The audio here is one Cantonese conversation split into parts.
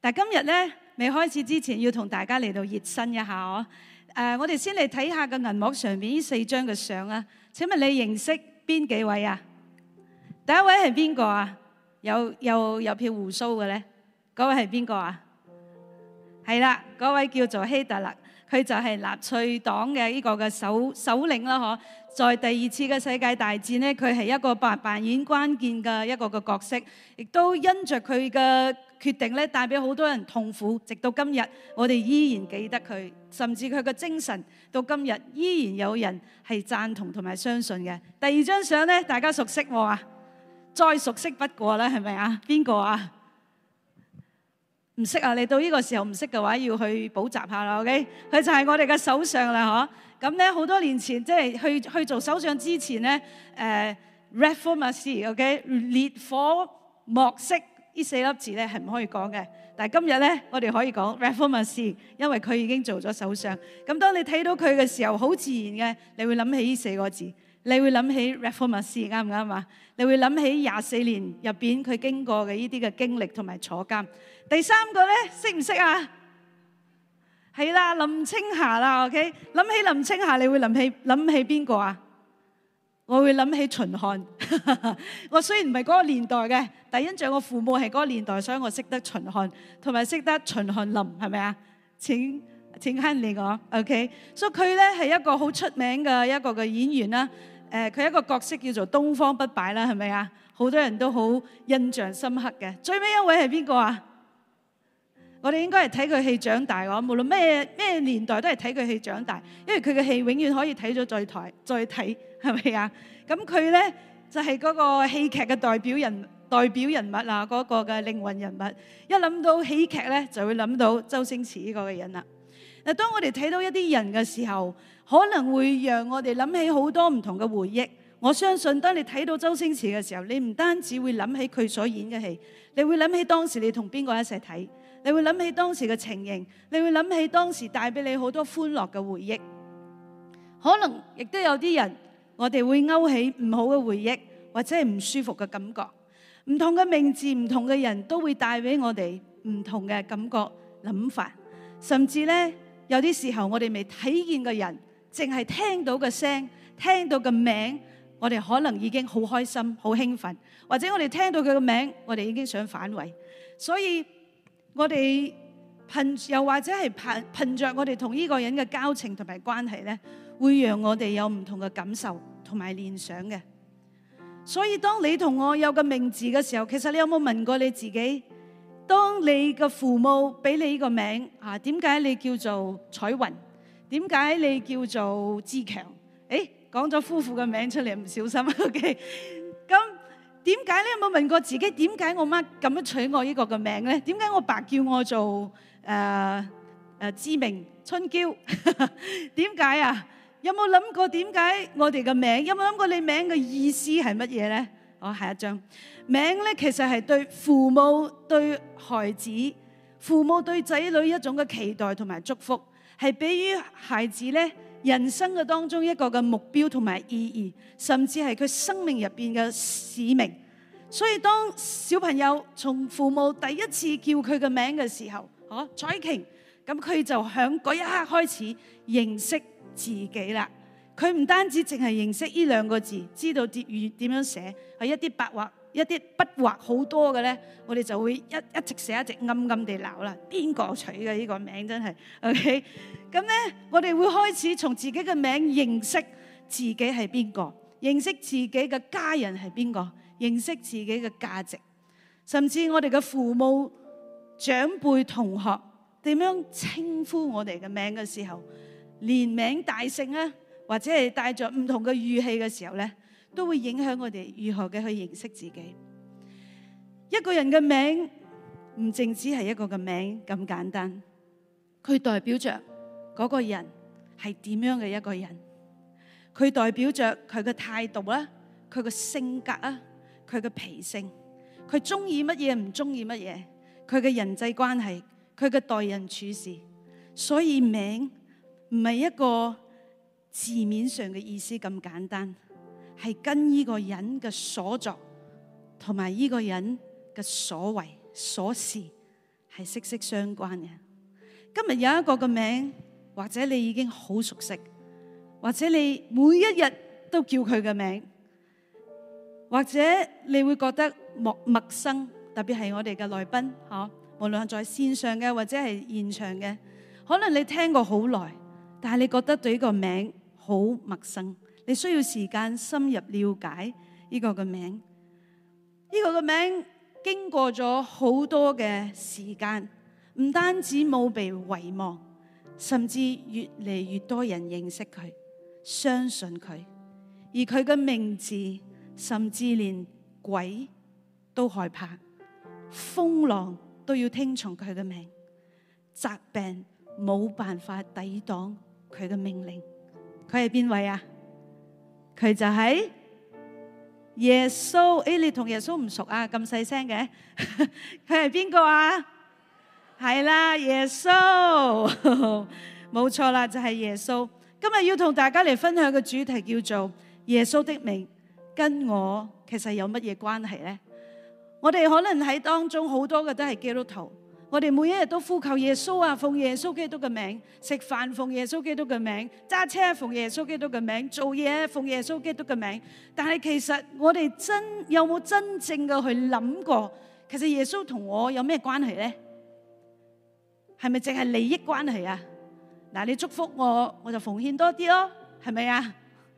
但係今日咧未開始之前，要同大家嚟到熱身一下我哋先嚟睇下個銀幕上面呢4張嘅相啊。請問你認識邊幾位啊？第一位係邊個啊？有片鬍鬚嘅咧，嗰位係邊個啊？係啦，嗰位叫做希特勒，佢就係納粹黨嘅呢個嘅首領啦，在第2次嘅世界大戰呢，佢係一個扮演關鍵嘅一個嘅角色，亦都因着佢嘅決定咧，帶俾好多人痛苦。直到今日，我哋依然記得佢，甚至佢嘅精神到今日依然有人係贊同同埋相信嘅。第2張相咧，大家熟悉喎啊，再熟悉不過啦，係咪啊？邊個啊？唔識啊？你到呢個時候唔識嘅話，要去補習下啦。OK， 佢就係我哋嘅首相啦，咁咧好多年前，即係去做首相之前咧，Reformacy，OK， 烈火莫熄呢4粒字咧係唔可以講嘅。但係今日咧，我哋可以講 Reformacy， 因為佢已經做咗首相。咁當你睇到佢嘅時候，好自然嘅，你會諗起呢4個字，你會諗起 Reformacy， 啱唔啱啊？你會諗起24年入邊佢經過嘅呢啲嘅經歷同埋坐監。第3個咧，識唔識啊？係啦，林青霞啦 ，OK。諗起林青霞，你會諗起邊個啊？我會諗起秦漢。我雖然唔係嗰個年代嘅，但因着我父母係嗰個年代，所以我識得秦漢，同埋識得秦漢林，係咪啊？請慳你我 ，OK。所以佢咧係一個好出名嘅一個嘅演員啦。佢一個角色叫做東方不敗啦，係咪啊？好多人都好印象深刻嘅。最尾一位係邊個啊？我哋應該係睇佢戲長大嘅，無論咩年代都係睇佢戲長大，因為佢嘅戲永遠可以睇咗再睇，係咪啊？咁佢咧就係嗰個戲劇嘅代表人物啊，嗰個嘅靈魂人物。一諗到喜劇咧，就會諗到周星馳呢個嘅人啦。嗱，當我哋睇到一啲人嘅時候，可能會讓我哋諗起好多唔同嘅回憶。我相信當你睇到周星馳嘅時候，你唔單止會諗起佢所演嘅戲，你會諗起當時你同邊個一齊睇，你會諗起當時嘅情形，你會諗起當時帶俾你好多歡樂嘅回憶。可能亦都有啲人，我哋會勾起唔好嘅回憶，或者係唔舒服嘅感覺。唔同嘅名字，唔同嘅人都會帶俾我哋唔同嘅感覺、諗法。甚至呢，有啲時候我哋未睇見嘅人，淨係聽到嘅聲、聽到嘅名，我哋可能已經好開心、好興奮，或者我哋聽到佢嘅名，我哋已經想反胃。所以我哋又或者係憑着我哋同呢個人嘅交情同埋關係呢，會讓我哋有唔同嘅感受同埋聯想嘅。所以當你同我有個名字嘅時候，其實你有冇問過你自己？當你嘅父母俾你呢個名啊，點解你叫做彩雲？點解你叫做志強？講咗夫婦嘅名出嚟，唔小心 OK。咁點解你有冇問過自己？點解我媽咁樣取我呢個嘅名咧？點解我爸叫我做志明春嬌？點解啊？有冇諗過點解我哋嘅名？有冇諗過你名嘅意思係乜嘢咧？下一張名咧，其實係對父母對孩子、父母對仔女一種嘅期待同埋祝福，係俾予孩子咧人生嘅當中一個嘅目標同埋意義，甚至係佢生命入邊嘅使命。所以當小朋友從父母第一次叫佢嘅名嘅時候，彩瓊，咁佢就響嗰一刻開始認識自己啦。佢唔單止淨係認識呢2個字，知道點樣寫，係一啲筆畫好多嘅咧，我哋就會一直寫一直暗地鬧啦。邊個取嘅呢個名真係 OK？ 咁咧，我哋會開始從自己嘅名認識自己係邊個，認識自己嘅家人係邊個，認識自己嘅價值，甚至我哋嘅父母、長輩、同學點樣稱呼我哋嘅名嘅時候，連名帶姓啊，或者係帶着唔同嘅語氣嘅時候咧，都會影響我哋如何嘅去認識自己。一個人嘅名唔淨止係一個嘅名咁簡單，佢代表着嗰個人係點樣嘅一個人，佢代表着佢嘅態度啦，佢嘅性格啊，佢嘅脾性，佢中意乜嘢唔中意乜嘢，佢嘅人際關係，佢嘅待人處事。所以名唔係一個字面上嘅意思咁簡單，係跟呢個人嘅所作同埋呢個人嘅所為所事係息息相關嘅。今日有一個嘅名，或者你已經好熟悉，或者你每一日都叫佢嘅名，或者你會覺得陌生，特別係我哋嘅來賓，無論係在線上嘅或者係現場嘅，可能你聽過好耐，但係你覺得對呢個名好陌生，你需要時間深入了解呢個嘅名。呢個嘅名經過咗好多嘅時間，唔單止冇被遺忘，甚至越嚟越多人認識佢，相信佢，而佢嘅名字甚至連鬼都害怕，風浪都要聽從佢嘅名，疾病冇辦法抵擋佢嘅命令。佢係邊位啊？佢就係耶穌。誒，你同耶穌唔熟啊？咁細聲嘅，佢係邊個啊？係啦，耶穌，冇錯啦，就係耶穌。今日要同大家嚟分享嘅主題叫做耶穌的名跟我其實有乜嘢關係呢？我哋可能喺當中好多嘅都係基督徒，我哋每一日都呼求耶穌啊，奉耶穌基督嘅名，食飯奉耶穌基督嘅名，揸車奉耶穌基督嘅名，做嘢奉耶穌基督嘅名。但係其實我哋有冇真正嘅去諗過，其實耶穌同我有咩關係呢？係咪淨係利益關係啊？嗱，你祝福我，我就奉獻多啲咯，係咪啊？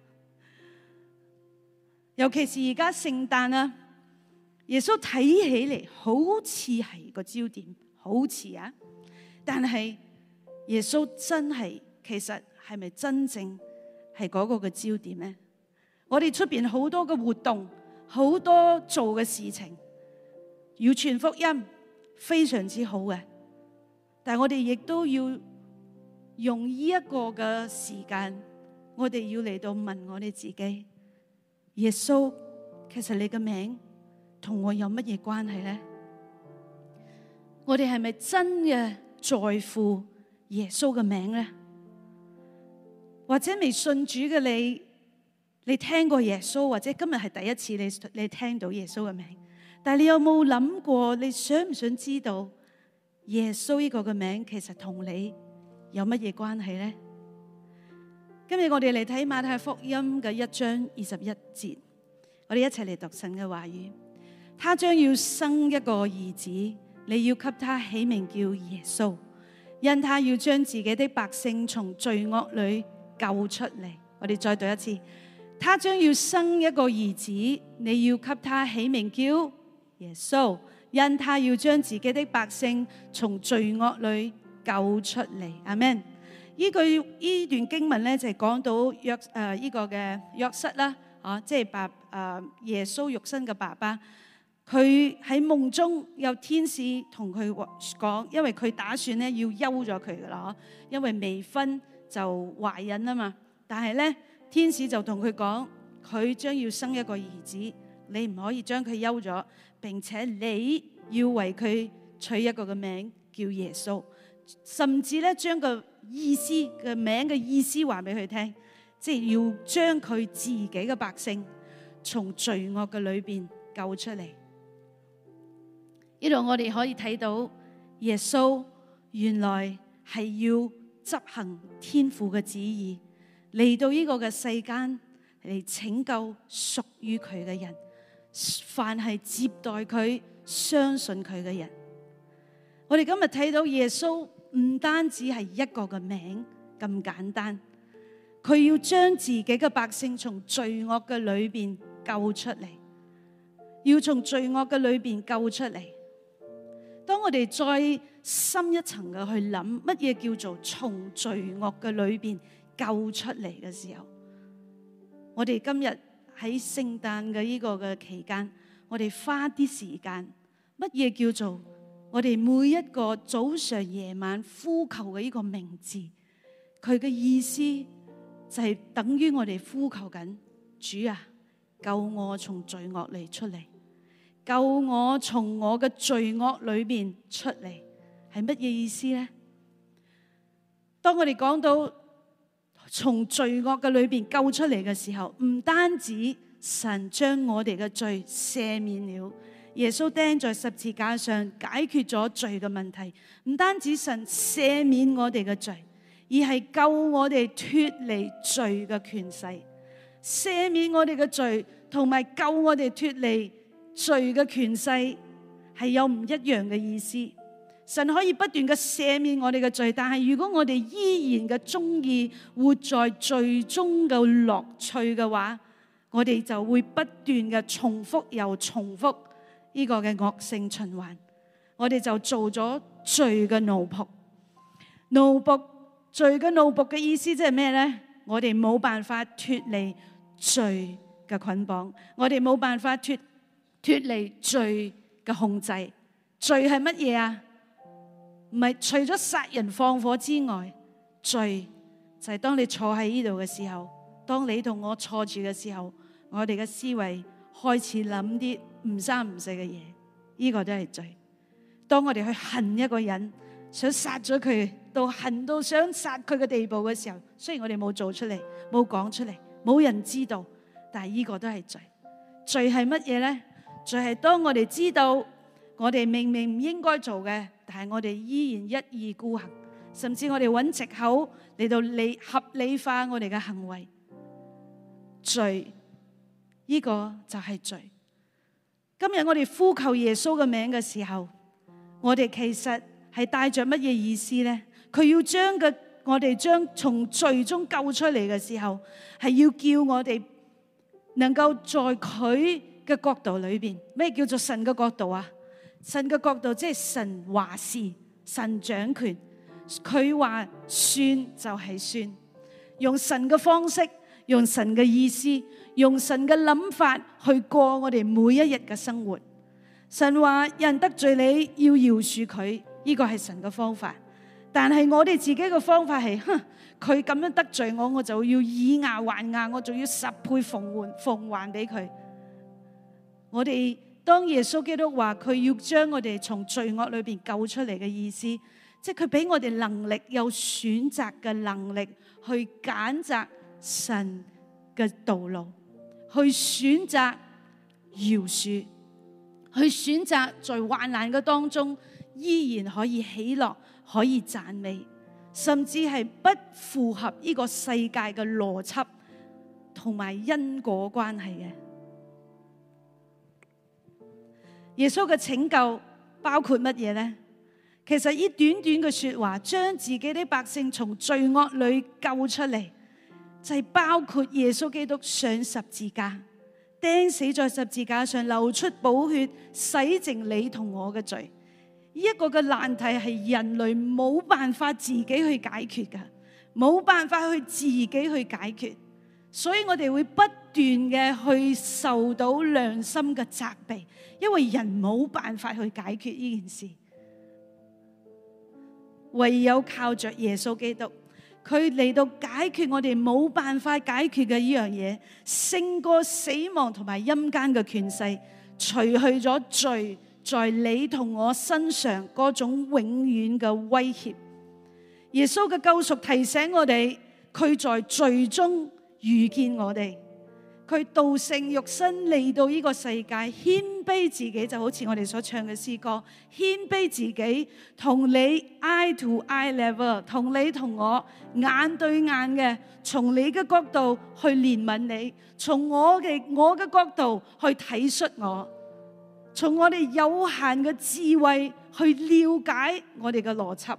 尤其是而家聖誕啊，耶穌睇起嚟好似係個焦點，好似啊，但係耶穌真係其實係咪真正係嗰個嘅焦點呢？我哋出邊好多嘅活動，好多做嘅事情，要傳福音，非常之好嘅，但係我哋亦都要用呢一個嘅時間，我哋要嚟到問我哋自己，耶穌，其實你嘅名同我有乜嘢關係呢？我哋係咪真嘅在乎耶穌嘅名呢？或者未信主嘅你聽過耶穌，或者今日係第一次你聽到耶穌嘅名，但係你有冇諗過，你想唔想知道耶穌呢個嘅名其實同你有乜嘢關係呢？今日我哋嚟睇馬太福音嘅1章21節，我哋一齊嚟讀神嘅話語。他將要生一個兒子，你要給他起名叫耶穌，因他要將自己的百姓從罪惡裏救出嚟。我哋再讀一次，他將要生一個兒子，你要給他起名叫耶穌，因他要將自己的百姓從罪惡裏救出嚟。阿們。呢段經文咧就係講到呢個嘅約瑟啦，即係耶穌肉身嘅爸爸，佢喺夢中有天使同佢講，因為佢打算咧要休咗佢噶啦，因為未婚就懷孕啊嘛。但係咧天使就同佢講，佢將要生一個兒子，你唔可以將佢休咗，並且你要為佢取一個嘅名叫耶穌，甚至咧將個意思嘅名嘅意思話俾佢聽，即係要將佢自己嘅百姓從罪惡嘅裏邊救出嚟。呢度我哋可以睇到耶穌原來係要執行天父嘅旨意，嚟到呢個嘅世間嚟拯救屬於佢嘅人，凡係接待佢、相信佢嘅人。我哋今日睇到耶穌唔單止係一個嘅名咁簡單，佢要將自己嘅百姓從罪惡嘅裏邊救出嚟，要從罪惡嘅裏邊救出嚟。當我哋再深一層嘅去諗乜嘢叫做從罪惡嘅裏邊救出嚟嘅時候，我哋今日喺聖誕嘅呢個嘅期間，我哋花啲時間，乜嘢叫做我哋每一個早上夜晚呼求嘅呢個名字，佢嘅意思就係等於我哋呼求緊主啊，救我從罪惡裏出嚟，救我從我嘅罪惡裏邊出嚟，係乜嘢意思呢？當我哋講到從罪惡嘅裏邊救出嚟嘅時候，唔單止神將我哋嘅罪赦免了， 耶穌釘在十字架上解決咗罪嘅問題，唔單止神赦免我哋嘅罪，而係救我哋脫離罪嘅權勢。赦免我哋嘅罪同埋救我哋脫離罪嘅權勢係有唔一樣嘅意思。神可以不斷嘅赦免我哋嘅罪，但係如果我哋依然嘅中意活在罪中嘅樂趣嘅話，我哋就會不斷嘅重複又重複呢個嘅惡性循環。我哋就做咗罪嘅奴僕。奴僕，罪嘅奴僕嘅意思即係咩呢？我哋冇辦法脫離罪嘅捆綁，我哋冇辦法脫離罪嘅控制。罪係乜嘢啊？唔係除咗殺人放火之外，罪就係當你坐喺呢度嘅時候，當你同我坐住嘅時候，我哋嘅思維開始諗啲唔三唔四嘅嘢，呢個都係罪。當我哋去恨一個人，想殺咗佢，到恨到想殺佢嘅地步嘅時候，雖然我哋冇做出嚟，冇講出嚟，冇人知道，但係呢個都係罪。罪係乜嘢呢？罪係當我哋知道我哋明明唔應該做嘅，但係我哋依然一意孤行，甚至我哋揾藉口嚟到合理化我哋嘅行為。罪，呢個就係罪。今日我哋呼求耶穌嘅名嘅時候，我哋其實係帶着乜嘢意思呢？佢要我哋將從罪中救出嚟嘅時候，係要叫我哋能夠在佢嘅角度裏邊。咩叫做神嘅角度啊？神嘅角度即係神話事，神掌權，佢話算就係算，用神嘅方式，用神嘅意思，用神嘅諗法去過我哋每一日嘅生活。神話人得罪你要饒恕佢，呢個係神嘅方法。但係我哋自己嘅方法係，佢咁樣得罪我，我就要以牙還牙，我仲要10倍奉還俾佢。我哋當耶穌基督話佢要將我哋從罪惡裏邊救出嚟嘅意思，即係佢俾我哋能力，有選擇嘅能力去揀擇神嘅道路，去選擇饒恕，去選擇在患難嘅當中依然可以喜樂，可以讚美，甚至係不符合呢個世界嘅邏輯同埋因果關係嘅。耶穌嘅拯救包括乜嘢呢？其實呢短短嘅說話，將自己啲百姓從罪惡裏救出嚟，就係包括耶穌基督上十字架，釘死在十字架上，流出寶血，洗淨你同我嘅罪。呢一個嘅難題係人類冇辦法自己去解決噶，冇辦法去自己去解決，所以我哋會不斷嘅去受到良心嘅責備，因為人冇辦法去解決呢件事，唯有靠着耶穌基督，佢嚟到解決我哋冇辦法解決嘅呢樣嘢，勝過死亡同埋陰間嘅權勢，除去咗罪在你同我身上嗰種永遠嘅威脅。耶穌嘅救贖提醒我哋，佢在罪中遇見我哋，佢道成肉身嚟到呢個世界，謙卑自己，就好似我哋所唱嘅詩歌，謙卑自己，同你 eye to eye level， 同你同我眼對眼嘅，從你嘅角度去憐憫你，從我嘅角度去體恤我，從我哋有限嘅智慧去了解我哋嘅邏輯。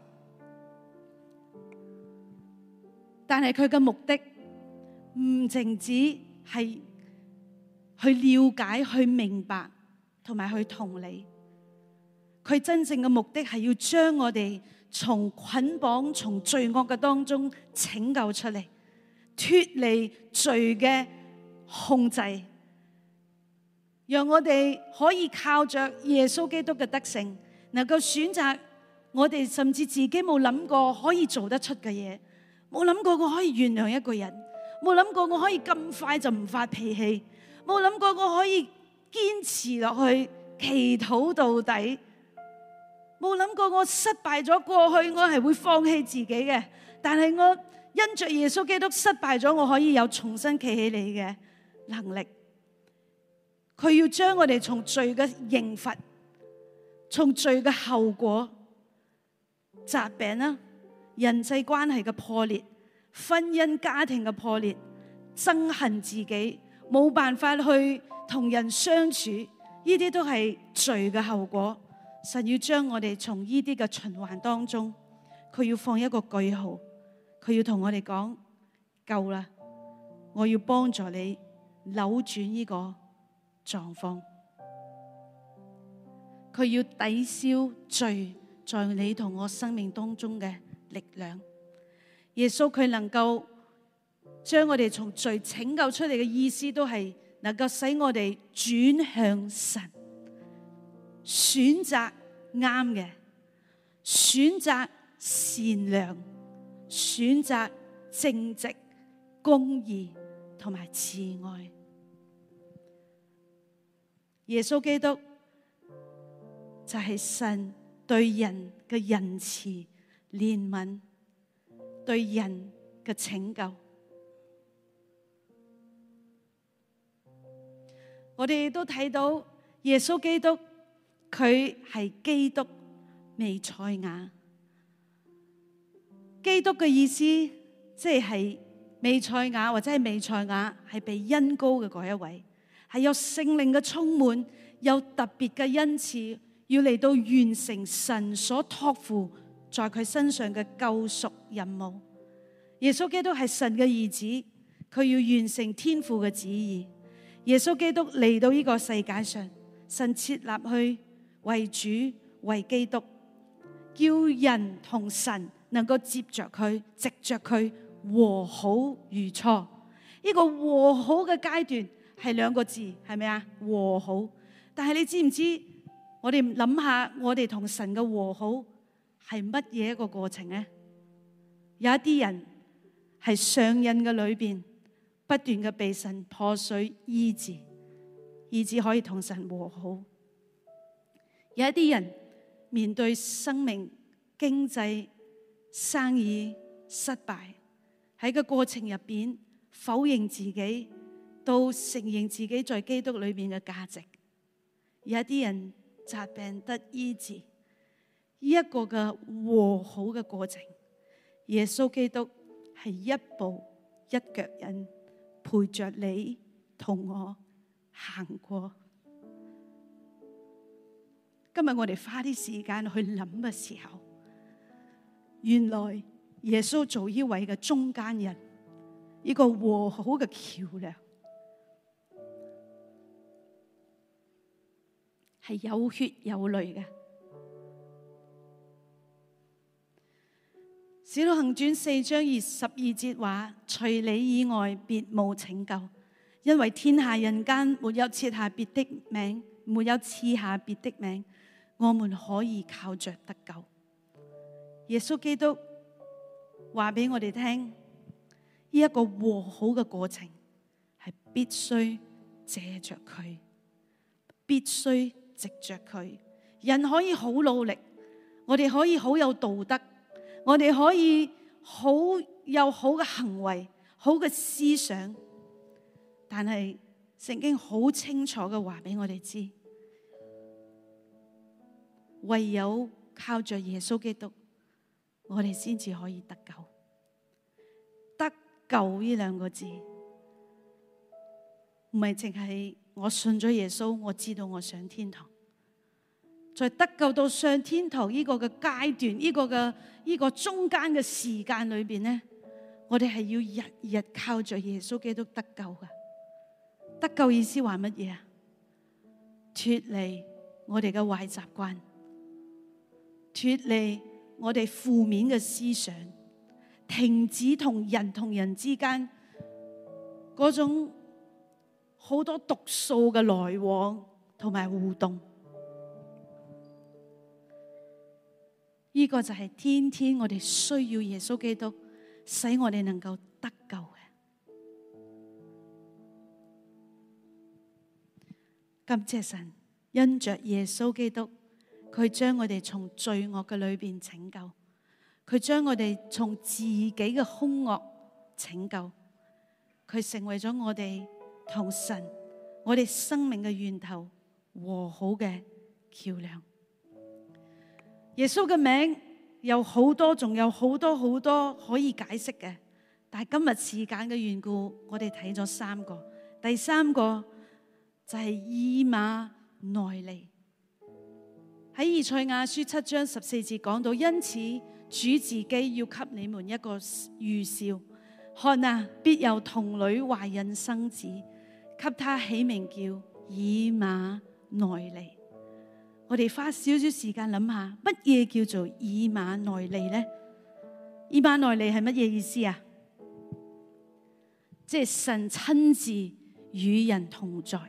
但係佢嘅目的唔淨止係去了解、去明白同埋去同理，佢真正嘅目的係要將我哋從捆綁、從罪惡嘅當中拯救出嚟，脫離罪嘅控制，讓我哋可以靠着耶穌基督嘅得勝，能夠選擇我哋甚至自己冇諗過可以做得出嘅嘢，冇諗過我可以原諒一個人，冇諗過我可以咁快就唔發脾氣，冇諗過我可以堅持落去祈禱到底，冇諗過我失敗咗過去我係會放棄自己嘅，但係我因着耶穌基督失敗咗，我可以有重新企起嚟嘅能力。 佢要將我哋從罪嘅刑罰、從罪嘅後果、疾病啦、人際關係嘅破裂、婚姻家庭嘅破裂、憎恨自己，冇辦法去同人相處，呢啲都係罪嘅後果。神要將我哋從呢啲嘅循環當中，佢要放一個句號，佢要同我哋講夠啦，我要幫助你扭轉呢個狀況，佢要抵消罪在你同我生命當中嘅力量。耶穌佢能夠將我哋從罪拯救出嚟嘅意思，都係能夠使我哋轉向神，選擇啱嘅，選擇善良，選擇正直、公義同埋慈愛。耶穌基督就係神對人嘅仁慈、憐憫，對人嘅拯救。我哋都睇到耶穌基督，佢係基督彌賽亞。基督嘅意思即係彌賽亞，或者係彌賽亞係被恩膏嘅嗰一位，係有聖靈嘅充滿，有特別嘅恩賜，要嚟到完成神所託付在佢身上嘅救贖任務。耶穌基督係神嘅兒子，佢要完成天父嘅旨意。耶穌基督嚟到呢個世界上，神設立去為主為基督，叫人同神能夠接着佢，藉着佢和好如初。呢個和好嘅階段係兩個字，係咪啊？和好。但係你知唔知？我哋諗下，我哋同神嘅和好係乜嘢一個過程呢？有一啲人係上癮嘅裏邊，不斷嘅被神破碎醫治，以致可以同神和好。有一啲人面對生命、經濟、生意失敗，喺個過程入邊否認自己，到承認自己在基督裏邊嘅價值。有一啲人疾病得醫治，呢一個嘅和好嘅過程，耶穌基督係一步一腳印陪着你同我行過。今日我哋花啲時間去諗嘅時候，原來耶穌做呢位嘅中間人，呢個和好嘅橋梁，係有血有淚嘅。使徒行傳4章22節話：除你以外，別無拯救，因為天下人間沒有賜下別的名，沒有賜下別的名，我們可以靠着得救。耶穌基督話俾我哋聽，呢一個和好嘅過程係必須借着佢，必須藉着佢。人可以好努力，我哋可以好有道德，我哋可以好有好嘅行為、好嘅思想，但係聖經好清楚嘅話俾我哋知，唯有靠着耶穌基督，我哋先至可以得救。得救呢兩個字，唔係淨係我信咗耶穌，我知道我上天堂。在得救到上天堂呢個嘅階段，呢個中間嘅時間裏邊咧，我哋係要日日靠着耶穌基督得救㗎。得救意思話乜嘢啊？脫離我哋嘅壞習慣，脫離我哋負面嘅思想，停止同人之間嗰種好多毒素嘅來往同埋互動。呢個就係天天我哋需要耶穌基督，使我哋能夠得救嘅。感謝神，因着耶穌基督，佢將我哋從罪惡嘅裏邊拯救，佢將我哋從自己嘅兇惡拯救，佢成為咗我哋同神、 我哋生命嘅源頭，和好嘅橋樑。耶穌嘅名有好多，仲有好多好多可以解釋嘅，但係今日時間嘅緣故，我哋睇咗3個。第3個就係以馬內利。喺以賽亞書7章14節講到，因此主自己要給你們一個預兆，看啊，必有童女懷孕生子，給他起名叫以馬內利。我哋花少少時間諗下，乜嘢叫做以馬內利呢？以馬內利係乜嘢意思啊？即係神親自與人同在，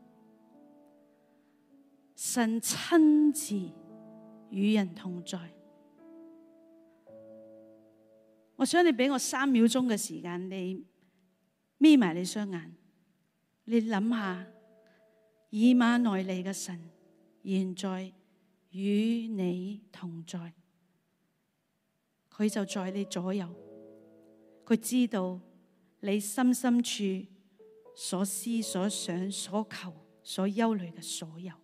神親自與人同在。我想你俾我3秒鐘嘅時間，你眯埋你雙眼，你諗下以馬內利嘅神現在與你同在，佢就在你左右，佢知道你心深處所思所想所求所憂慮嘅所有，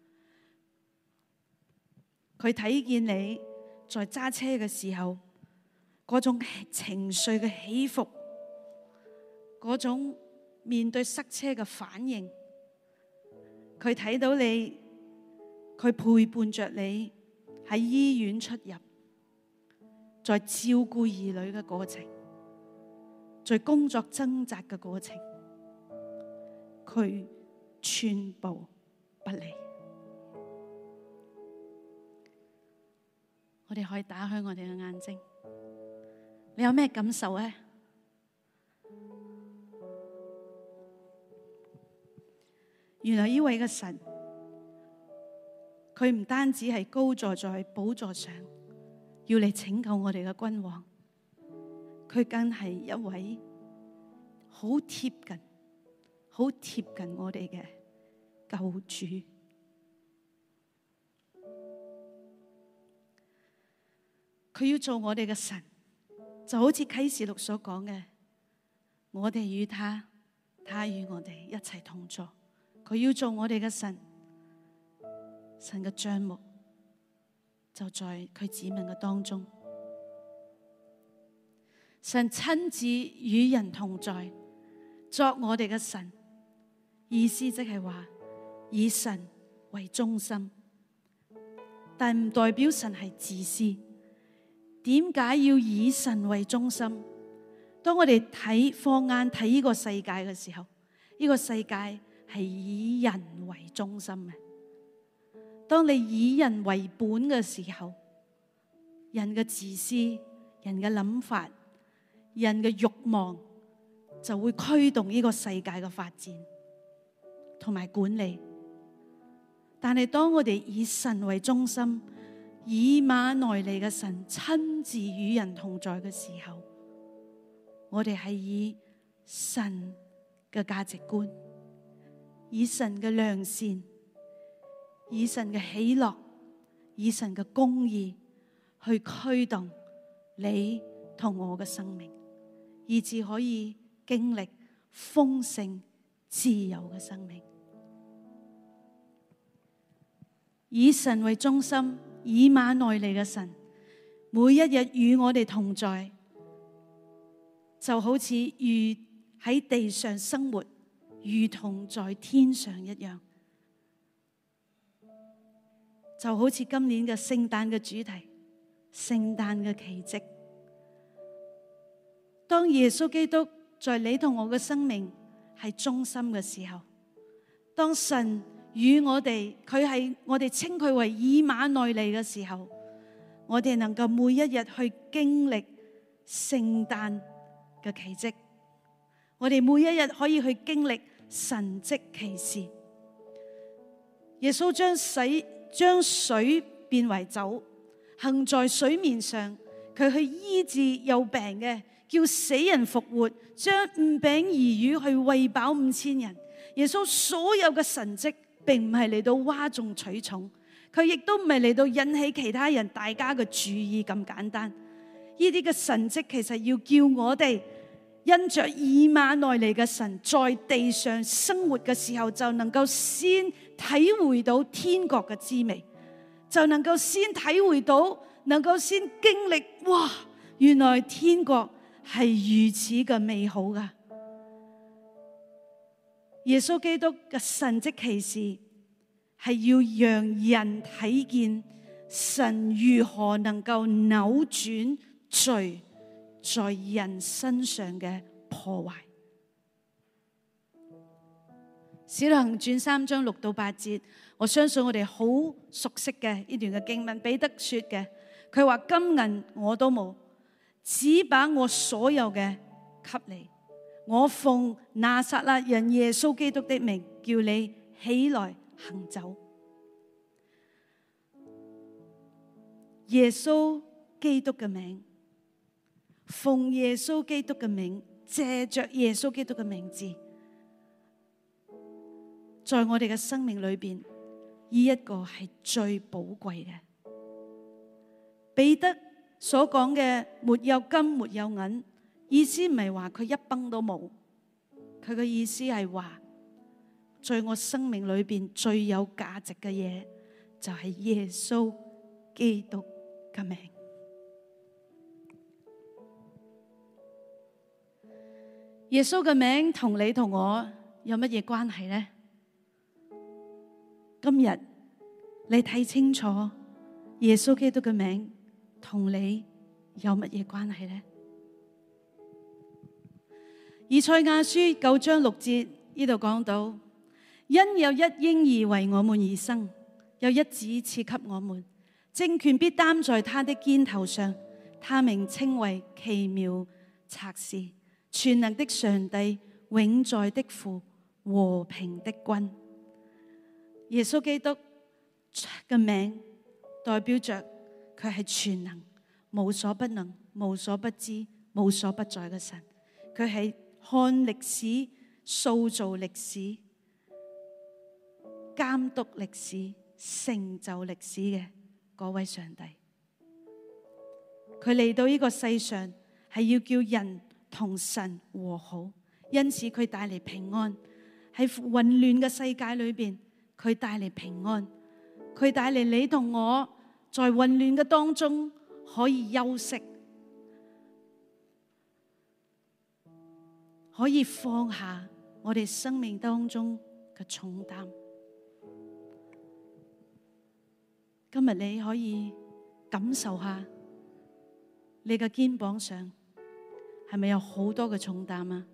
佢睇見你在揸車嘅時候嗰種情緒嘅起伏，嗰種面對塞車嘅反應，佢睇到你，佢陪伴着你喺醫院出入，在照顧兒女嘅過程，在工作掙扎嘅過程，佢寸步不離。我哋可以打開我哋嘅眼睛，你有咩感受呢？原來呢位嘅神，佢唔單止係高坐在寶座上，要嚟拯救我哋嘅君王，佢更係一位好貼近我哋嘅救主。佢要做我哋嘅神，就好似啟示錄所講嘅，我哋與他，他與我哋一齊同坐。佢要做我哋嘅神，神嘅帳幕就在佢子民嘅當中。神親自與人同在，作我哋嘅神，意思即係話以神為中心，但唔代表神係自私。點解要以神為中心？當我哋放眼睇呢個世界嘅時候，呢個世界係以人為中心嘅。當你以人為本嘅時候，人嘅自私、人嘅諗法、人嘅慾望就會驅動呢個世界嘅發展同埋管理。但係當我哋以神為中心，以馬內利嘅神親自與人同在嘅時候，我哋係以神嘅價值觀，以神嘅良善，以神嘅喜樂，以神嘅公義去驅動你同我嘅生命，以至可以經歷豐盛自由嘅生命。以神為中心，以馬內利嘅神，每一日與我哋同在，就好似如喺地上生活，如同在天上一樣。就好似今年嘅聖誕嘅主題，聖誕嘅奇蹟。當耶穌基督在你同我嘅生命係中心嘅時候，當神與我哋，我哋稱佢為以馬內利嘅時候，我哋能夠每一日去經歷聖誕嘅奇蹟，我哋每一日可以去經歷神蹟奇事。耶穌將水變為酒，行在水面上，佢去醫治有病嘅，叫死人復活，將5餅2魚去餵飽5000人。耶穌所有嘅神蹟，並唔係嚟到嘩眾取寵，佢亦都唔係嚟到引起其他人大家嘅注意咁簡單。呢啲嘅神蹟其實要叫我哋因着以馬內利嘅神在地上生活嘅時候，就能夠先體會到天國嘅滋味，就能夠先體會到，能夠先經歷，哇！原來天國係如此嘅美好噶。耶穌基督嘅神蹟奇事係要讓人睇見神如何能夠扭轉罪在人身上嘅破壞。使徒行傳3章6到8節，我相信我哋好熟悉嘅呢段嘅經文。彼得說嘅，佢話金銀我都冇，只把我所有嘅給你。我奉拿撒勒人耶穌基督的名，叫你起來行走。耶穌基督嘅名，奉耶穌基督嘅名，借着耶穌基督嘅名字，在我哋嘅生命裏邊，呢一個係最寶貴嘅。彼得所講嘅沒有金沒有銀，意思唔係話佢一崩都冇，佢嘅意思係話，在我生命裏邊最有價值嘅嘢，就係耶穌基督嘅名。耶穌嘅名同你同我有乜嘢關係呢？今日你睇清楚耶穌基督嘅名同你有乜嘢關係呢？以賽亞書9章6節呢度講到，因有一嬰兒為我們而生，有一子賜給我們，政權必擔在他的肩頭上，他名稱為奇妙策士，全能的上帝，永在的父，和平的君。耶穌基督嘅名代表着佢係全能、無所不能、無所不知、無所不在嘅神。佢係看歷史、塑造歷史、監督歷史、成就歷史嘅嗰位上帝。佢嚟到呢個世上係要叫人同神和好，因此佢帶嚟平安。喺混亂嘅世界裏邊，佢帶嚟平安，佢帶嚟你同我在混亂嘅當中可以休息，可以放下我哋生命當中嘅重擔。今日你可以感受下你嘅肩膀上係咪有好多嘅重擔啊？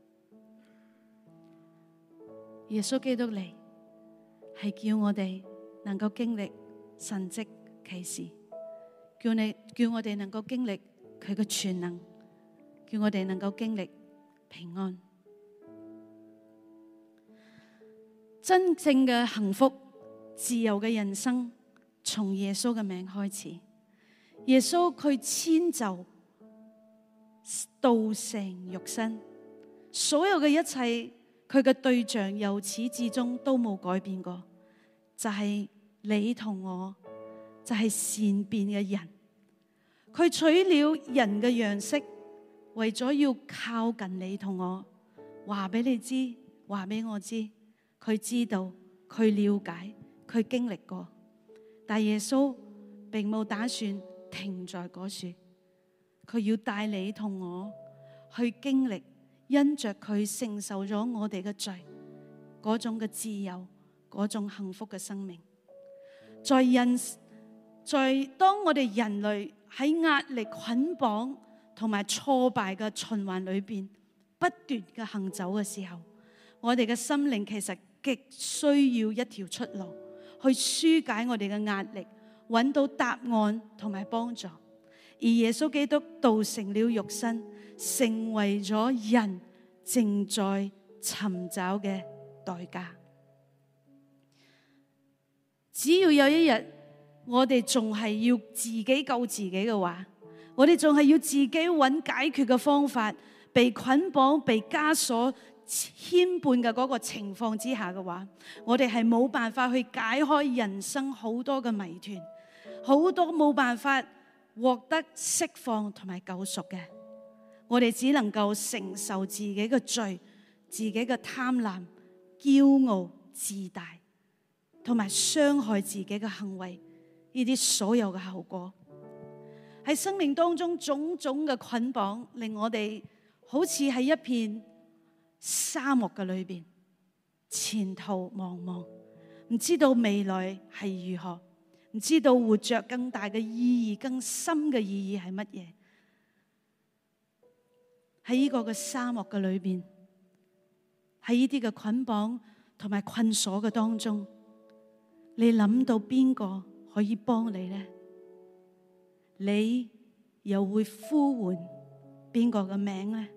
耶穌基督嚟係叫我哋能夠經歷神蹟奇事，叫我哋能夠經歷佢嘅全能，叫我哋能夠經歷平安。真正嘅幸福、自由嘅人生，從耶穌嘅名開始。耶穌佢遷就道成肉身，所有嘅一切，佢嘅對象由始至終都冇改變過，就係你同我，就係善變嘅人。佢取了人嘅樣式，為咗要靠近你同我，話俾你知，話俾我知，佢知道，佢了解，佢經歷過。但耶穌並冇打算停在嗰處，佢要帶你同我去經歷，因着佢承受咗我哋嘅罪，嗰種嘅自由，嗰種幸福嘅生命。在當我哋人類喺壓力捆綁同埋挫敗嘅循環裏邊不斷嘅行走嘅時候，我哋嘅心靈其實極需要一條出路，去紓解我哋嘅壓力，揾到答案同埋幫助。而耶穌基督道成了肉身，成為咗人正在尋找嘅代價。只要有一日我哋仲係要自己救自己嘅話，我哋仲係要自己揾解決嘅方法，被捆綁、被枷鎖、牽絆嘅嗰個情況之下嘅話，我哋係冇辦法去解開人生好多嘅謎團，好多冇辦法獲得釋放同埋救贖嘅。 我哋只能夠承受自己嘅罪、自己嘅貪婪、驕傲、自大，同埋傷害自己嘅行為，呢啲所有嘅後果。喺生命當中種種嘅捆綁，令我哋好似喺一片沙漠嘅裏邊，前途茫茫，唔知道未來係如何，唔知道活着更大嘅意義、更深嘅意義係乜嘢。喺呢個嘅沙漠嘅裏邊，喺呢啲嘅捆綁同埋困鎖嘅當中，你諗到邊個可以幫你呢？你又會呼喚邊個嘅名呢？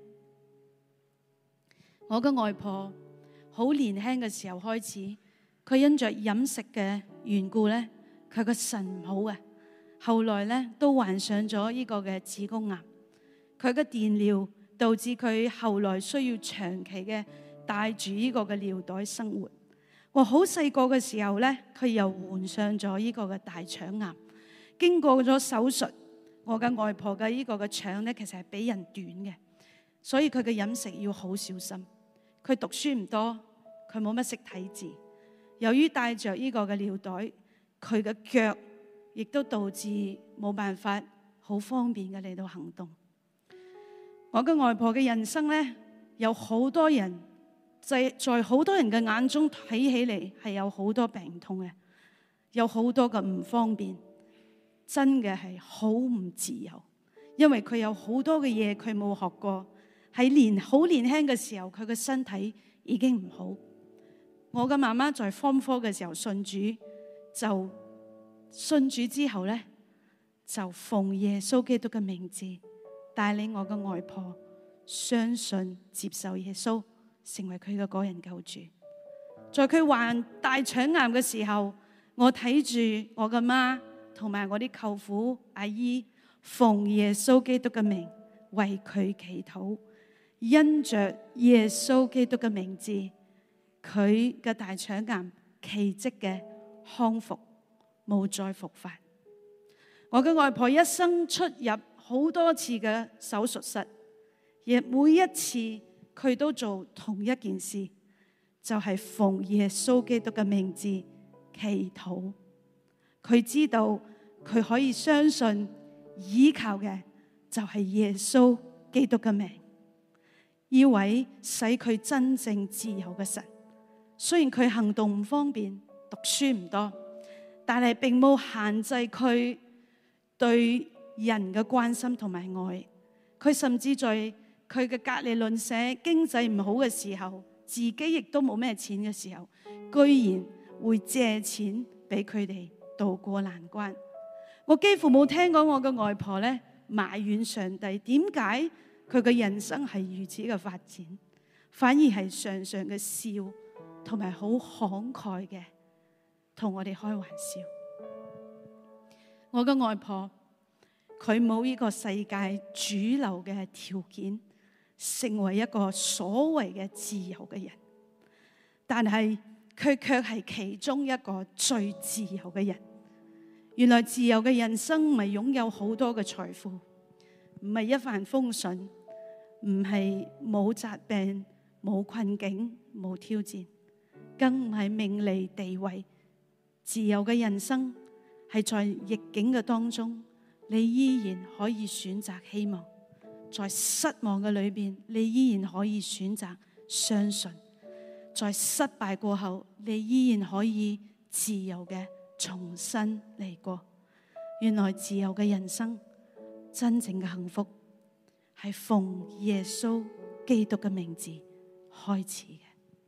我嘅外婆好年輕嘅時候開始，佢因着飲食嘅緣故咧，佢個腎唔好嘅，後來咧都患上咗呢個嘅子宮癌。佢嘅電療導致佢後來需要長期嘅帶住呢個嘅尿袋生活。我好細個嘅時候咧，佢又患上咗呢個嘅大腸癌，經過咗手術。我嘅外婆嘅呢個嘅腸咧，其實係比人短嘅，所以佢嘅飲食要好小心。佢讀書唔多，佢冇乜識睇字。由於帶着呢個嘅尿袋，佢嘅腳亦都導致冇辦法好方便嘅嚟到行動。我嘅外婆嘅人生咧，有好多人在好多人嘅眼中睇起嚟係有好多病痛嘅，有好多嘅唔方便。真嘅係好唔自由，因為佢有好多嘅嘢佢冇學過，喺好年輕嘅時候，佢嘅身體已經唔好。我嘅媽媽在Form 4嘅時候信主，就信主之後咧，就奉耶穌基督嘅名字帶領我嘅外婆相信接受耶穌，成為佢嘅個人救主。在佢患大腸癌嘅時候，我睇住我嘅媽同埋我啲舅父阿姨奉耶穌基督嘅名為佢祈禱，因着耶穌基督嘅名字，佢嘅大腸癌奇蹟嘅康復，冇再復發。我嘅外婆一生出入好多次嘅手術室，亦每一次佢都做同一件事，就係奉耶穌基督嘅名字祈禱。佢知道佢可以相信依靠嘅就係耶穌基督嘅名，呢位使佢真正自由嘅神。雖然佢行動唔方便，讀書唔多，但係並冇限制佢對人嘅關心同埋愛。佢甚至在佢嘅隔離鄰舍經濟唔好嘅時候，自己亦都冇咩錢嘅時候，居然會借錢俾佢哋渡過難關。我幾乎冇聽過我嘅外婆咧埋怨上帝，點解佢嘅人生係如此嘅發展，反而係常常嘅笑，同埋好慷慨嘅同我哋開玩笑。我嘅外婆佢冇呢個世界主流嘅條件，成為一個所謂嘅自由嘅人，但係佢卻係其中一個最自由嘅人。原來自由嘅人生唔係擁有好多嘅財富，唔係一帆風順，唔係冇疾病、冇困境、冇挑戰，更唔係名利地位。自由嘅人生係在逆境嘅當中，你依然可以選擇希望；在失望嘅裏邊，你依然可以選擇相信；在失敗過後，你依然可以自由嘅重新嚟過。原來自由嘅人生，真正嘅幸福係奉耶穌基督嘅名字開始嘅。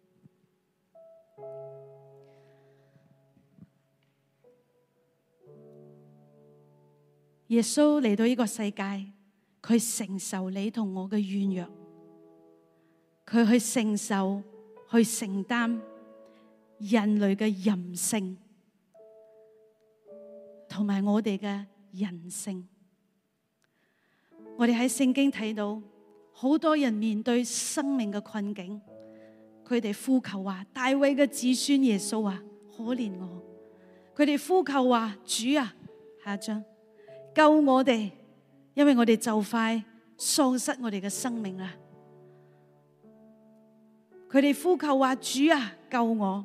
耶穌嚟到呢個世界，佢承受你同我嘅軟弱，佢去承受、去承擔人類嘅任性，同埋我哋嘅人性。我哋喺聖經睇到好多人面對生命嘅困境，佢哋呼求話：大衛嘅子孫耶穌啊，可憐我！佢哋呼求話：主啊，下一章救我哋，因為我哋就快喪失我哋嘅生命啦。佢哋呼求話：主啊，救我！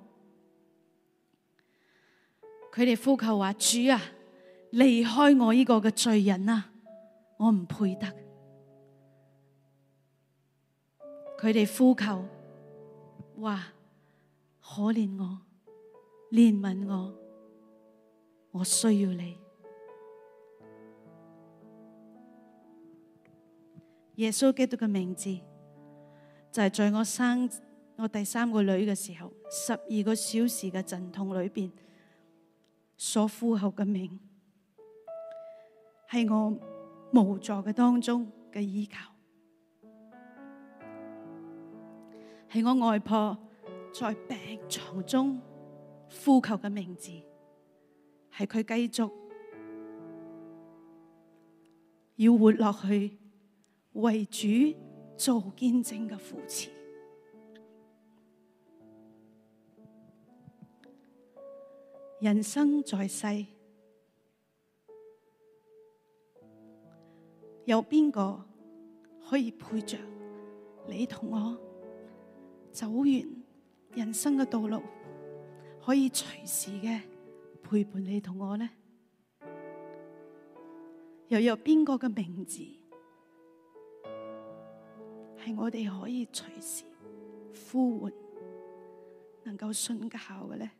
佢哋呼求話：主啊，離開我呢個嘅罪人啊，我唔配得。佢哋呼求話：可憐我，憐憫我，我需要你。耶穌基督嘅名字就係在我生我第3個女嘅時候，12個小時嘅陣痛裏邊所呼求嘅名，係我無助嘅當中嘅依靠，係我外婆在病床中呼求嘅名字，係佢繼續要活落去，為主做見證嘅扶持。人生在世，有邊個可以陪着你同我走完人生嘅道路，可以隨時嘅陪伴你同我呢？又有邊個嘅名字係我哋可以隨時呼喚，能夠信靠嘅呢？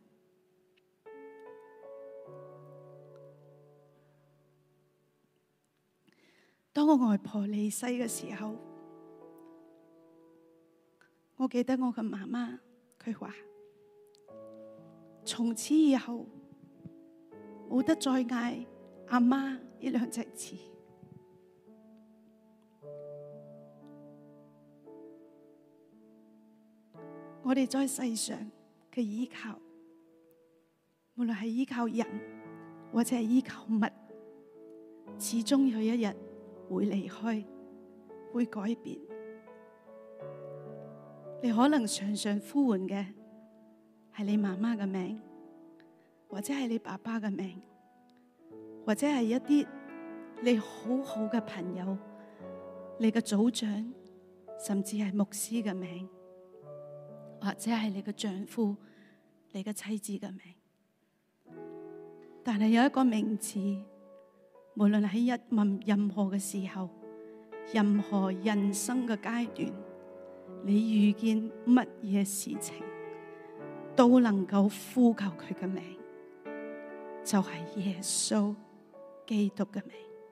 當我外婆離世嘅時候，我記得我嘅媽媽佢話：從此以後冇得再嗌阿媽呢2隻字。我哋在世上嘅依靠，無論係依靠人或者係依靠物，始終有一日會離開，會改變。你可能常常呼喚嘅係你媽媽嘅名，或者係你爸爸嘅名，或者係一啲你好好嘅朋友，你嘅組長，甚至係牧師嘅名，或者係你嘅丈夫、你嘅妻子嘅名。但係有一個名字，無論喺任何嘅時候，任何人生嘅階段，你遇見乜嘢事情，都能夠呼求佢嘅名，就係耶穌基督嘅名。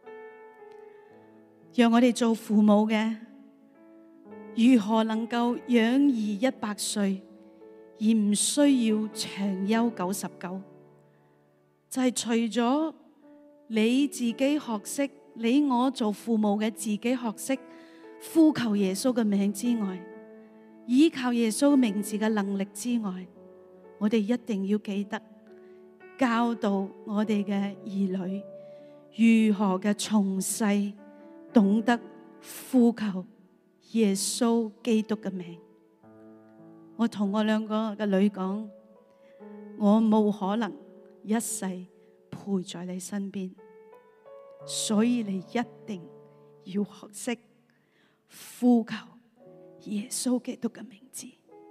讓我哋做父母嘅，如何能夠養兒100歲，而唔需要長憂99？就係除咗你自己學識，你我做父母嘅自己學識呼求耶穌嘅名之外，依靠耶穌名字嘅能力之外，我哋一定要記得教導我哋嘅兒女如何嘅從細懂得呼求耶穌基督嘅名。我同我2個嘅女講，我冇可能一世陪在你身邊，所以你一定要學識呼求耶穌基督嘅名字，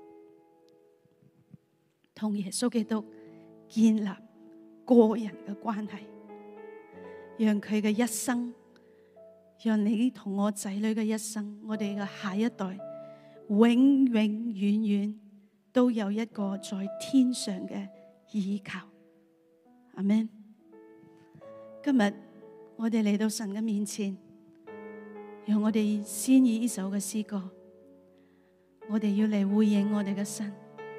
同耶穌基督建立個人嘅關係，讓佢嘅一生，讓你同我仔女嘅一生，我哋嘅下一代永永遠遠都有一個在天上嘅依靠。阿們。今日我哋嚟到神嘅面前，讓我哋先以呢首嘅詩歌，我哋要嚟回應我哋嘅神。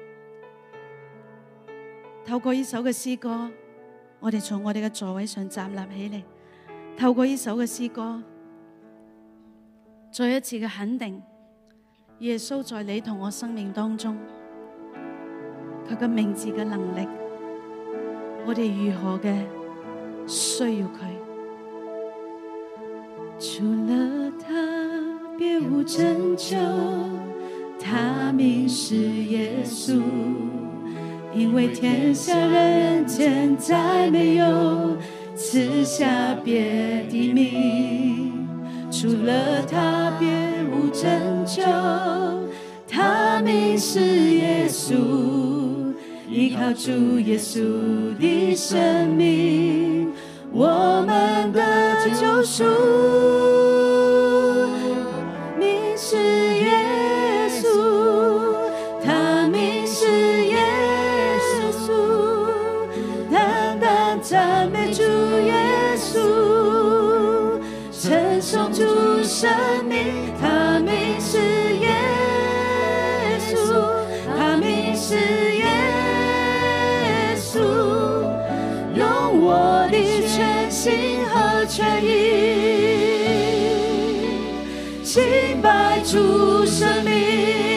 透過呢首嘅詩歌，我哋從我哋嘅座位上站立起嚟，透過呢首嘅詩歌，再一次嘅肯定耶穌在你同我生命當中佢嘅名字嘅能力，我哋如何嘅需要佢。 除了他別無拯救，他名是耶穌，因為天下人間再沒有賜下別的名， 除了他別無拯救，他名是耶穌，依靠主耶穌的生命，我們的救贖，名是耶穌，他名是耶穌，單單讚美主耶穌，稱頌主生命，他名是耶穌，他名是耶穌，用我的全心和全意敬拜主生命。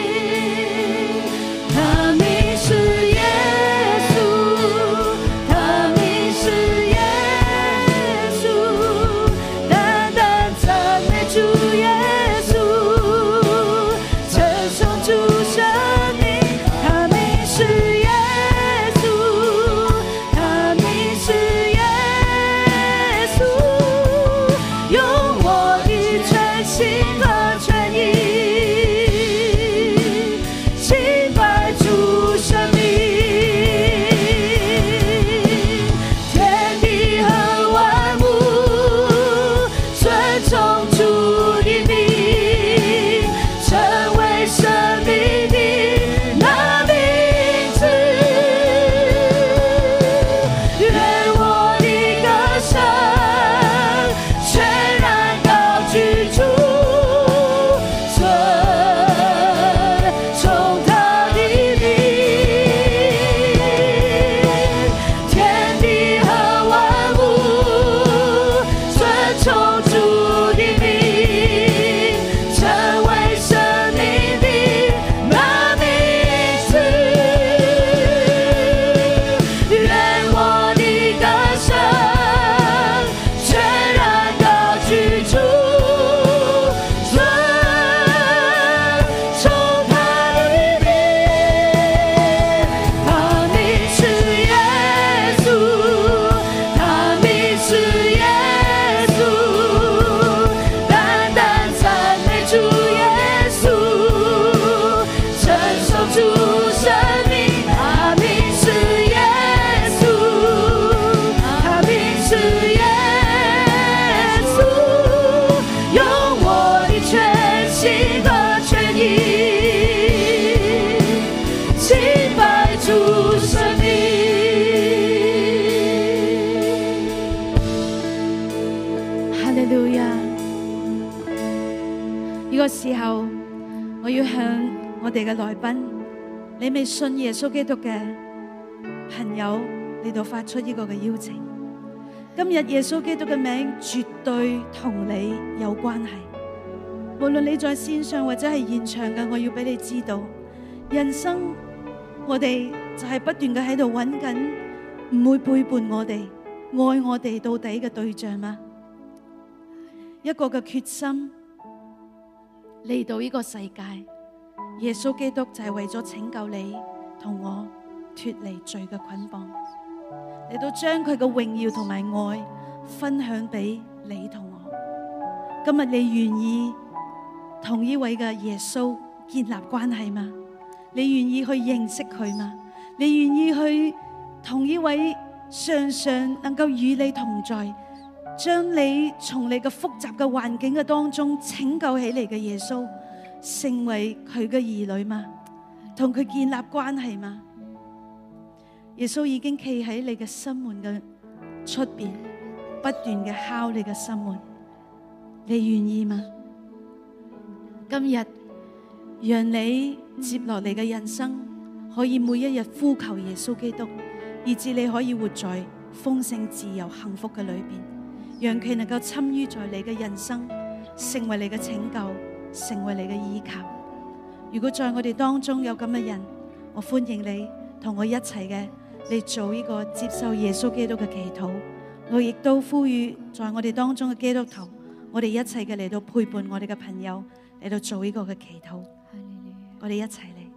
時候，我要向我哋嘅來賓，你未信耶穌基督嘅朋友嚟到發出呢個嘅邀請。今日耶穌基督嘅名絕對同你有關係，無論你在線上或者係現場嘅，我要俾你知道，人生我哋就係不斷嘅喺度揾緊唔會背叛我哋、愛我哋到底嘅對象嗎？一個嘅決心。嚟到呢個世界，耶穌基督就係為咗拯救你同我脫離罪嘅捆綁，嚟到將佢嘅榮耀同埋愛分享俾你同我。今日你願意同呢位嘅耶穌建立關係嗎？你願意去認識佢嗎？你願意去同呢位常常能夠與你同在，將你從你嘅複雜嘅環境嘅當中拯救起嚟嘅耶穌，成為佢嘅兒女嗎？同佢建立關係嗎？耶穌已經企喺你嘅心門嘅出邊，不斷嘅敲你嘅心門，你願意嗎？今日讓你接落嚟嘅人生，可以每一日呼求耶穌基督，以致你可以活在豐盛、自由、幸福嘅裏邊。讓佢能夠參與在你嘅人生，成為你嘅拯救，成為你嘅依靠。如果在我哋當中有咁嘅人，我歡迎你同我一齊嘅嚟做呢個接受耶穌基督嘅祈禱。我亦都呼籲在我哋當中嘅基督徒，我哋一齊嘅嚟到陪伴我哋嘅朋友嚟到做呢個嘅祈禱。我哋一齊嚟，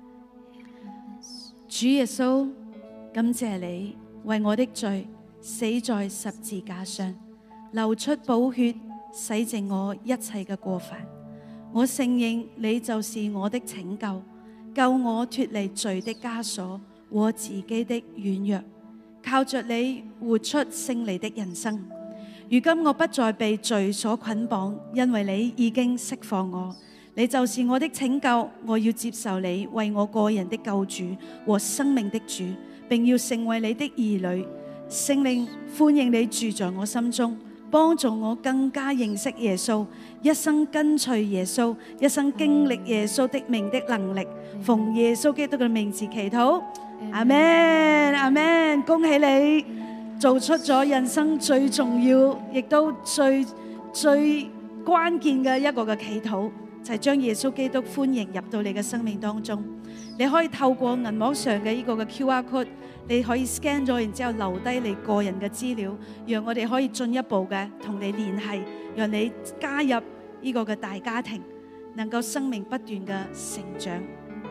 主耶穌，感謝你為我的罪死在十字架上，流出寶血洗淨我一切嘅過犯。我承認你就是我的拯救，救我脫離罪的枷鎖和自己的軟弱，靠着你活出勝利的人生。如今我不再被罪所捆綁，因為你已經釋放我。你就是我的拯救，我要接受你為我個人的救主和生命的主，並要成為你的兒女。聖靈，歡迎你住在我心中，幫助我更加認識耶穌，一生跟隨耶穌，一生經歷耶穌的名的能力。奉耶穌基督嘅名字祈禱，阿們，阿們。恭喜你做出咗人生最重要，亦都最關鍵嘅一個嘅祈禱，就係將耶穌基督歡迎入到你嘅生命當中。你可以透過銀幕上嘅呢個嘅 QR code， 你可以 scan 咗，然之後留低你個人嘅資料，讓我哋可以進一步嘅同你聯繫，讓你加入呢個嘅大家庭，能夠生命不斷嘅成長。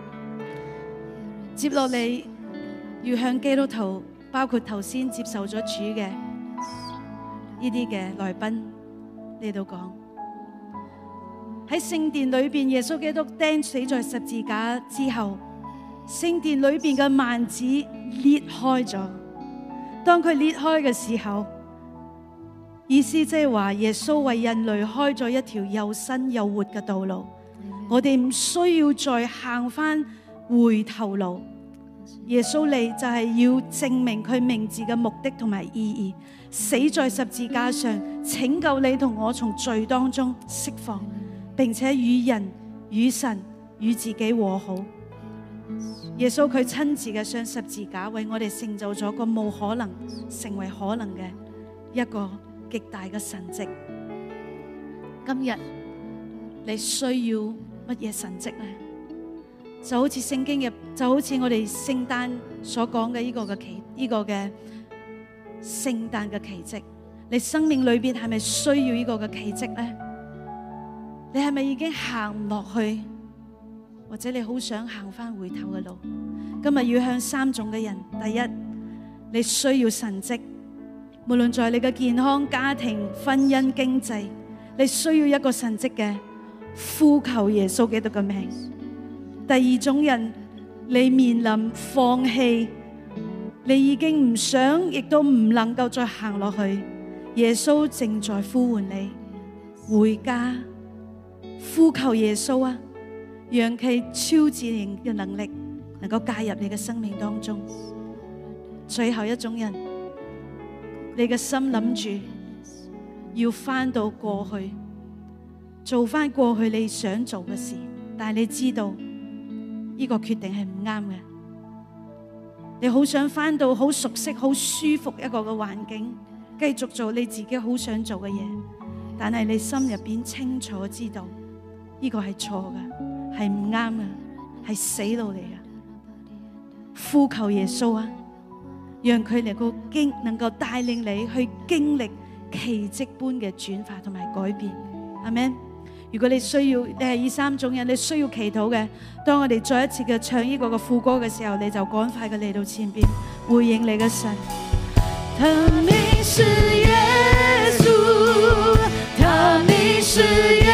接落嚟要向基督徒，包括頭先接受咗主嘅呢啲嘅來賓嚟到講，喺聖殿裏邊，耶穌基督釘死在十字架之後，聖殿裏邊嘅幔子裂開咗。當佢裂開嘅時候，意思即係話耶穌為人類開咗一條又新又活嘅道路。我哋唔需要再行翻回頭路。耶穌嚟就係要證明佢名字嘅目的同埋意義，死在十字架上，拯救你同我從罪當中釋放，並且與人、與神、與自己和好。耶穌佢親自嘅上十字架，為我哋成就咗個冇可能成為可能嘅一個極大嘅神蹟。今日你需要乜嘢神蹟呢？就好似聖經嘅，就好似我哋聖誕所講嘅呢個嘅聖誕嘅奇蹟。你生命裏邊係咪需要呢個嘅奇蹟呢？你係咪已經行唔落去，或者你好想行翻回頭嘅路？今日要向三種嘅人：第一，你需要神蹟，無論在你嘅健康、家庭、婚姻、經濟，你需要一個神蹟嘅，呼求耶穌基督嘅名。第二種人，你面臨放棄，你已經唔想，亦都唔能夠再行落去。耶穌正在呼喚你回家，呼求耶穌啊，讓佢超自然嘅能力能夠介入你嘅生命當中。最後一種人，你嘅心諗住要翻到過去，做翻過去你想做嘅事，但係你知道呢個決定係唔啱嘅。你好想翻到好熟悉、好舒服一個嘅環境，繼續做你自己好想做嘅嘢，但係你心入邊清楚知道呢個係錯嘅，係唔啱嘅，係死路嚟嘅。呼求耶穌啊，讓佢能夠帶領你去經歷奇蹟般嘅轉化同埋改變。阿們。如果你需要，你係呢三種人，你需要祈禱嘅，當我哋再一次嘅唱呢個嘅副歌嘅時候，你就趕快嘅嚟到前邊回應你嘅神。 他名是耶穌，他名是耶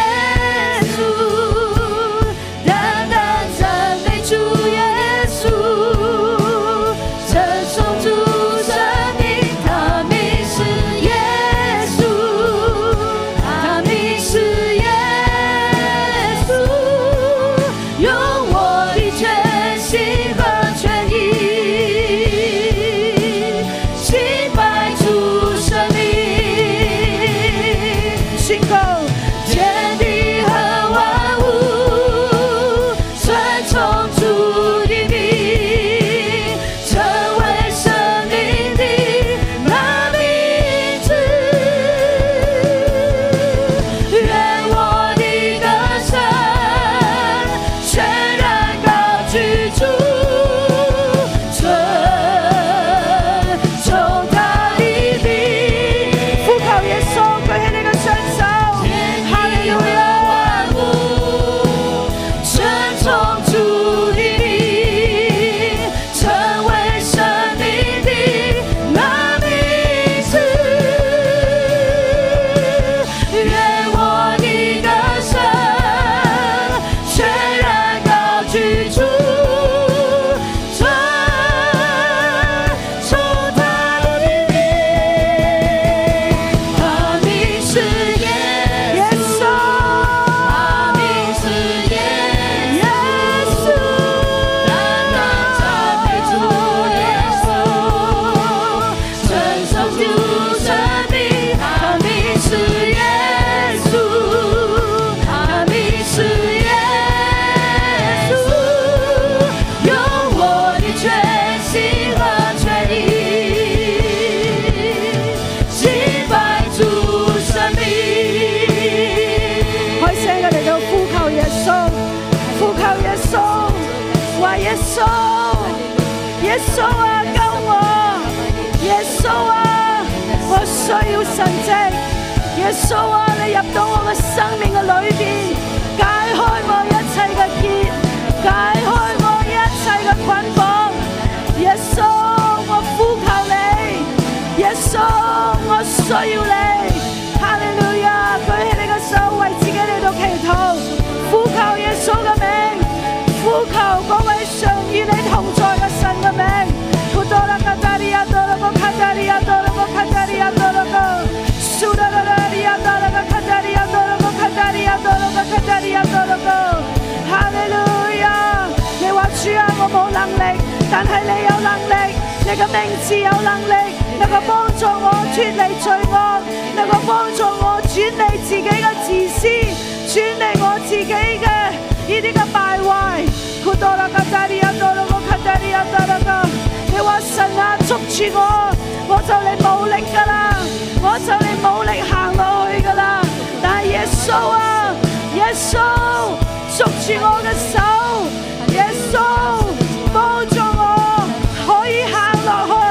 穌，單單讚美主耶穌，稱頌主生命。他名是耶穌，他名是耶穌，用我的全心和全意敬拜主生命，信靠天耶穌啊，救我！耶穌啊，我需要神蹟。耶穌啊，你入到我嘅生命嘅裏邊，解開我一切嘅結，解開我一切嘅捆綁。耶穌，我呼求你。耶穌，我需要你。哈利路亞！舉起你嘅手，為自己嚟到祈禱，呼求耶穌嘅名，呼求嗰位常與你同在嘅神嘅名。哈利路亞！你話主啊，我冇能力，但係你有能力，你嘅名字有能力，能夠幫助我脫離罪惡，能夠幫助我轉離自己嘅自私，轉離我自己嘅呢啲嘅敗壞。你話神啊，捉住我就嚟冇力噶啦，我就嚟冇力行落去噶啦。但係耶穌啊，耶穌捉住我嘅手，耶穌幫助我可以行落去。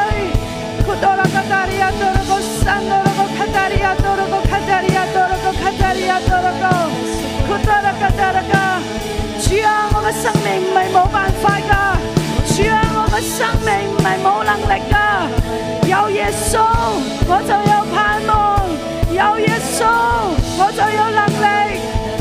主啊，我嘅生命唔係冇辦法噶，主啊，我嘅生命唔係冇能力噶，有耶穌我就有盼望，有耶穌我就有能力。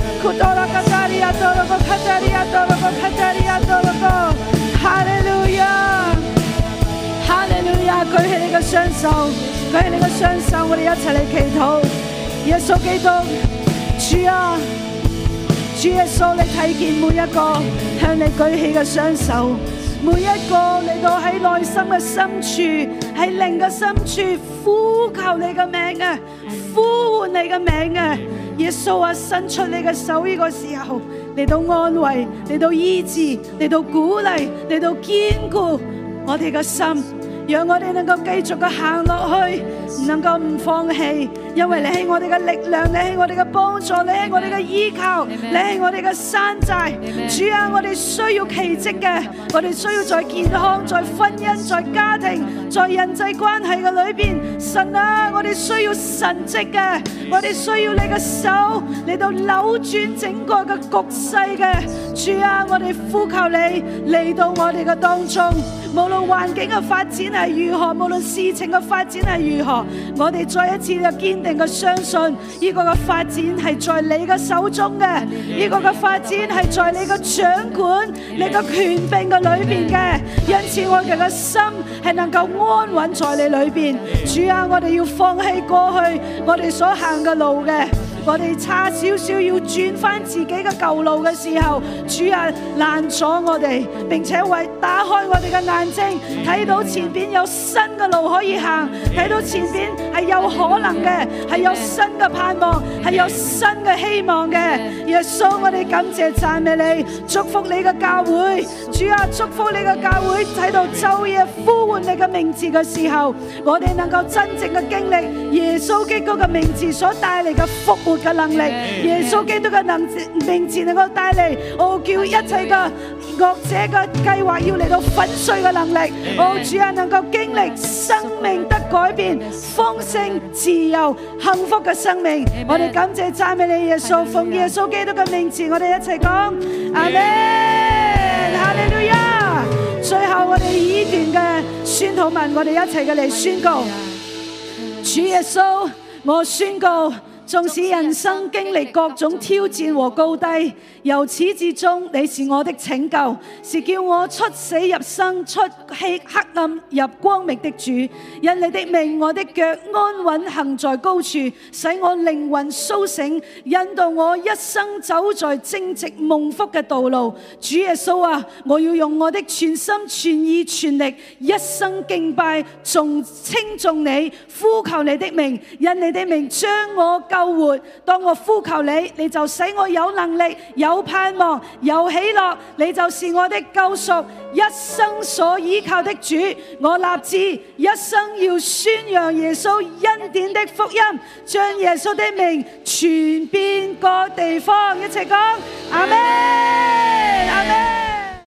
哈利路亞，哈利路亞！舉起你嘅雙手，舉起你嘅雙手，我哋一齊嚟祈禱。耶穌基督，主啊，主耶穌，你睇見每一個向你舉起嘅雙手，每一個嚟到喺內心嘅深處，喺靈嘅深處呼求你嘅名啊，呼喚你嘅名啊！耶穌啊，伸出你嘅手，呢個時候嚟到安慰，嚟到醫治，嚟到鼓勵，嚟到堅固我哋嘅心，讓我哋能夠繼續嘅行落去，唔能夠唔放棄，因為你係我哋嘅力量，你係我哋嘅幫助，你係我哋嘅依靠，你係我哋嘅山寨。主啊，我哋需要奇蹟嘅，我哋需要在健康、在婚姻、在家庭、在人際關係嘅裏邊，神啊，我哋需要神蹟嘅，我哋需要你嘅手嚟到扭轉整個嘅局勢嘅。主啊，我哋呼求你嚟到我哋嘅當中，無論環境嘅發展係如何，無論事情嘅發展係如何，我哋再一次嘅堅定嘅相信，呢個嘅發展係在你嘅手中嘅，呢個嘅發展係在你嘅掌管、你嘅權柄嘅裏邊嘅，因此我哋嘅心係能夠安穩在你裏邊。主啊，我哋要放棄過去我哋所行嘅路嘅，我哋差少少要轉翻自己嘅舊路嘅時候，主啊，攔阻我哋，並且為打開我哋嘅眼睛，睇到前邊有新嘅路可以行，睇到前邊係有可能嘅，係有新嘅盼望，係有新嘅希望嘅。耶穌，我哋感謝讚美你，祝福你嘅教會。主啊，祝福你嘅教會喺度晝夜呼喚你嘅名字嘅時候，我哋能夠真正嘅經歷耶穌基督嘅名字所帶嚟嘅復活嘅能力，耶穌基督嘅名字能夠帶嚟叫一切嘅惡者嘅計劃要嚟到粉碎嘅能力。主啊，能夠經歷生命得改變、豐盛、自由、幸福嘅生命。我哋感謝讚美你，耶穌，奉耶穌基督嘅名字，我哋一齊講阿們，哈利路亞。最後我哋以呢段嘅宣禱文，我哋一齊嘅嚟宣告：主耶穌，我宣告，縱使人生經歷各種挑戰和高低，由始至終你是我的拯救，是叫我出死入生、出黑暗入光明的主。因你的名，我的腳安穩行在高處，使我靈魂甦醒，引導我一生走在正直蒙福嘅道路。主耶穌啊，我要用我的全心全意全力，一生敬拜稱頌你，呼求你的名。因你的名將我救活，當我呼求你，你就使我有能力、有盼望、有喜樂，你就是我的救贖，一生所依靠的主。我立志一生要宣揚耶穌恩典的福音，將耶穌的名傳遍各地方。一齊講阿們，阿們。